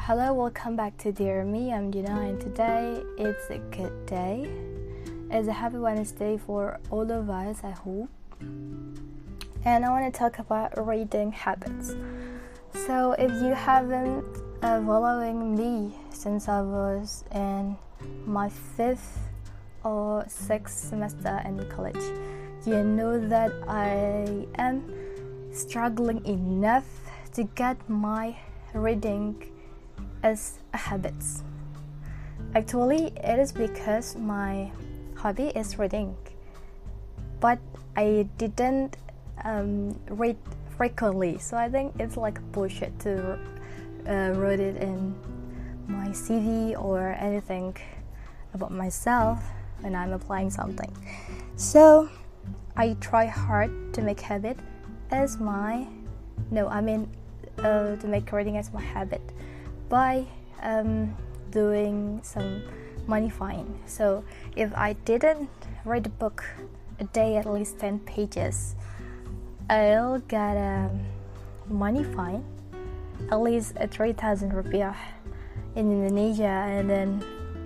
Hello, welcome back to Dear Me. I'm Dina, and today it's a good day. It's a happy Wednesday for all of us, I hope. And I want to talk about reading habits. So if you haven't following me since I was in my 5th or 6th semester in college, you know that I am struggling enough to get my reading as a habit. Actually, it is because my hobby is reading, but I didn't read frequently, so I think it's like bullshit to write it in my CV or anything about myself when I'm applying something. So I try hard to make habit as my to make reading as my habit by doing some modifying. So if I didn't read a book a day at least 10 pages, I'll get a money fine, at least 3,000 rupiah in Indonesia. And then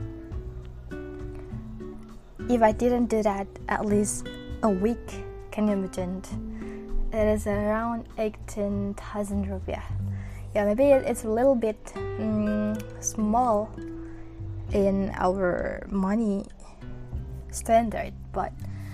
if I didn't do that at least a week, can you imagine? It is around 18,000 rupiah. Yeah, maybe it's a little bit small in our money standard, but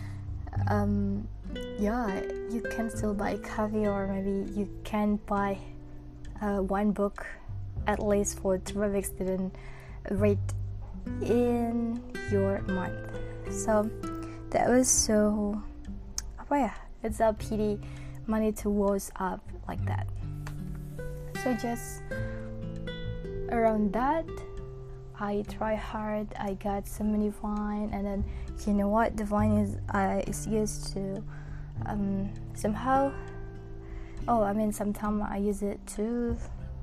you can still buy coffee, or maybe you can buy one book at least for 3 weeks didn't read in your month. So that was so it's a pity money to waste up like that. So just around that, I try hard. I got so many fine, and then you know what? The fine is used to somehow. Sometimes I use it to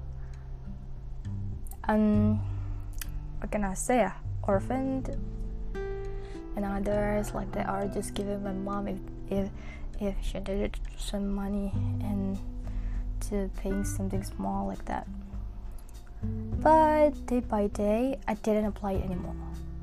what can I say? Orphaned, and others like they are just giving my mom if she needed some money and to paying something small like that. But day by day, I didn't apply it anymore.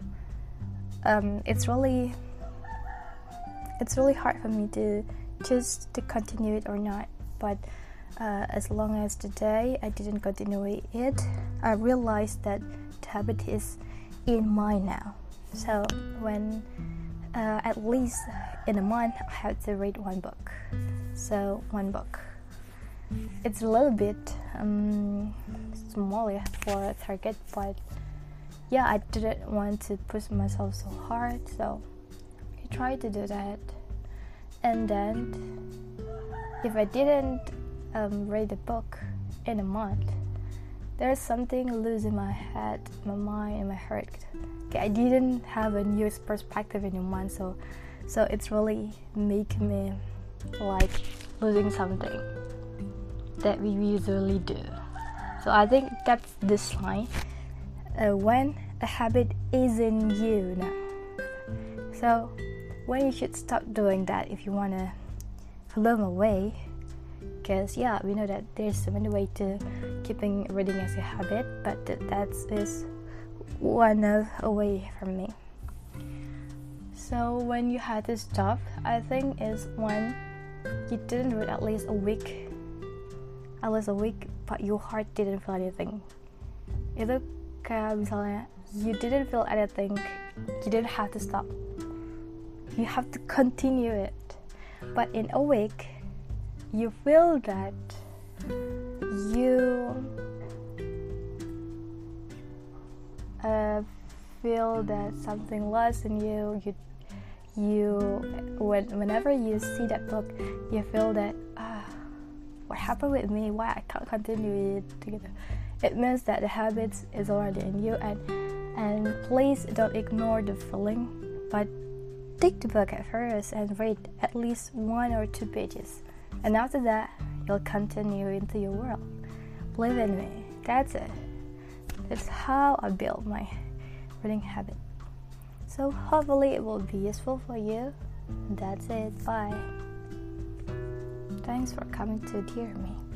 It's really hard for me to choose to continue it or not. But as long as today I didn't continue it, I realized that the habit is in mine now. So when at least in a month I have to read one book. So one book. It's a little bit small for a target, but I didn't want to push myself so hard, so I tried to do that. And then if I didn't read a book in a month, there's something loose in my head, my mind, and my heart. I didn't have a new perspective in a month, so it's really making me like losing something that we usually do. So I think that's the sign when a habit is in you now. So when you should stop doing that if you want to follow my way, because we know that there's so many ways to keeping reading as a habit, but that is one of a way for me. So when you had to stop, I think is when you didn't read at least a week, but your heart didn't feel anything. Itu kayak misalnya you didn't feel anything, you didn't have to stop. You have to continue it. But in a week, you feel that you feel that something lost in you. Whenever you see that book, you feel that what happened with me? Why I can't continue it together? It means that the habit is already in you, and please don't ignore the feeling, but take the book at first and read at least 1 or 2 pages, and after that you'll continue into your world. Believe in me, that's it. That's how I built my reading habit. So hopefully it will be useful for you. That's it. Bye. Thanks for coming to Dear Me.